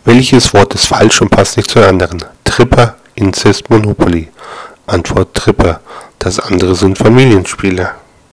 Welches Wort ist falsch und passt nicht zu den anderen? Tripper, Inzest, Monopoly. Antwort Tripper. Das andere sind Familienspiele.